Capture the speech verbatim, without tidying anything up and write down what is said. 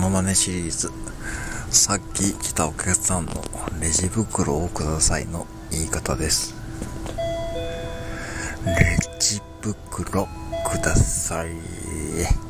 ノマネシリーズ。さっき来たお客さんのレジ袋をくださいの言い方です。レジ袋ください。